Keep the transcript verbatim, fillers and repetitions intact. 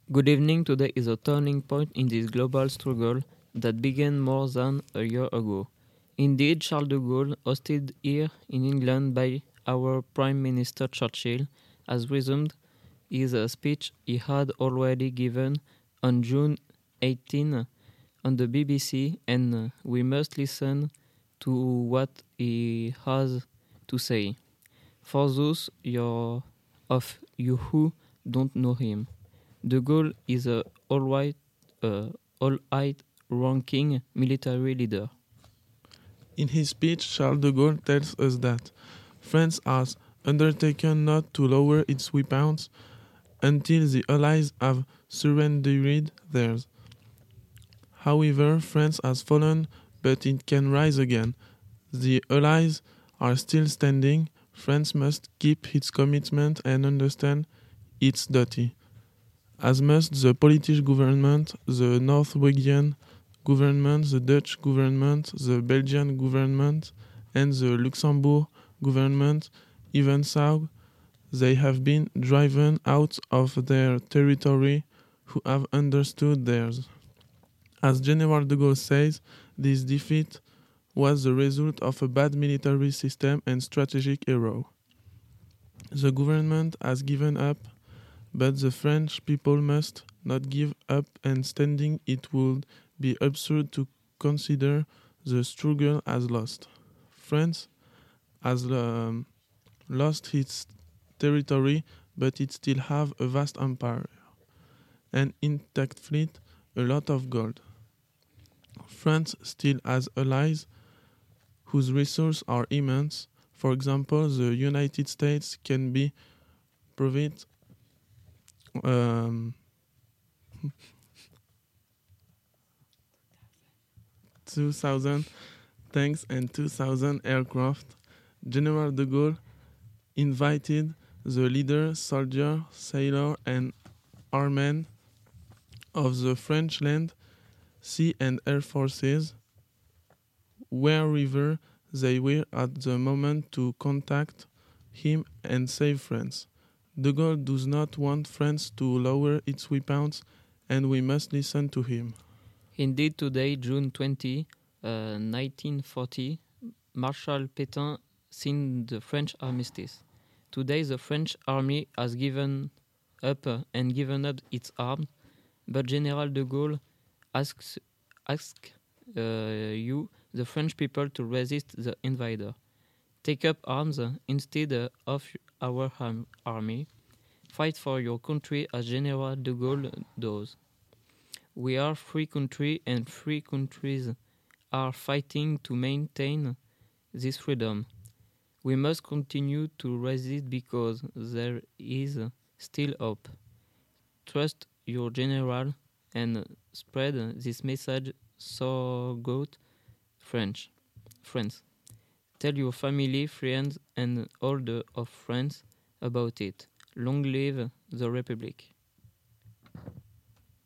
Good evening. Today is a turning point in this global struggle that began more than a year ago. Indeed, Charles de Gaulle, hosted here in England by our Prime Minister Churchill, has resumed his uh, speech he had already given on June eighteenth on the B B C, and uh, we must listen to what he has to say. For those your, of you who don't know him, De Gaulle is a all-white, uh, all-height ranking military leader. In his speech, Charles de Gaulle tells us that France has undertaken not to lower its weapons until the Allies have surrendered theirs. However, France has fallen, but it can rise again. The Allies are still standing. France must keep its commitment and understand its duty. As must the Polish government, the Norwegian government, the Dutch government, the Belgian government, and the Luxembourg government. Even so, they have been driven out of their territory who have understood theirs. As General de Gaulle says, this defeat was the result of a bad military system and strategic error. The government has given up, but the French people must not give up, and standing it would be absurd to consider the struggle as lost. France has um, lost its territory, but it still have a vast empire, an intact fleet, a lot of gold. France still has allies whose resources are immense. For example, the United States can be provide um, two thousand tanks and two thousand aircraft. General de Gaulle invited the leader, soldier, sailor, and airmen of the French land, sea, and air forces, wherever they were at the moment, to contact him and save France. De Gaulle does not want France to lower its weapons, and we must listen to him. Indeed, today, June twentieth, uh, nineteen forty, Marshal Pétain signed the French armistice. Today, the French army has given up uh, and given up its arms, but General de Gaulle asks, asks uh, you, the French people, to resist the invader. Take up arms uh, instead uh, of our um, army. Fight for your country as General de Gaulle does. We are free country, and free countries are fighting to maintain this freedom. We must continue to resist because there is still hope. Trust your general and spread this message throughout French. France. Tell your family, friends, and all the of France about it. Long live the Republic.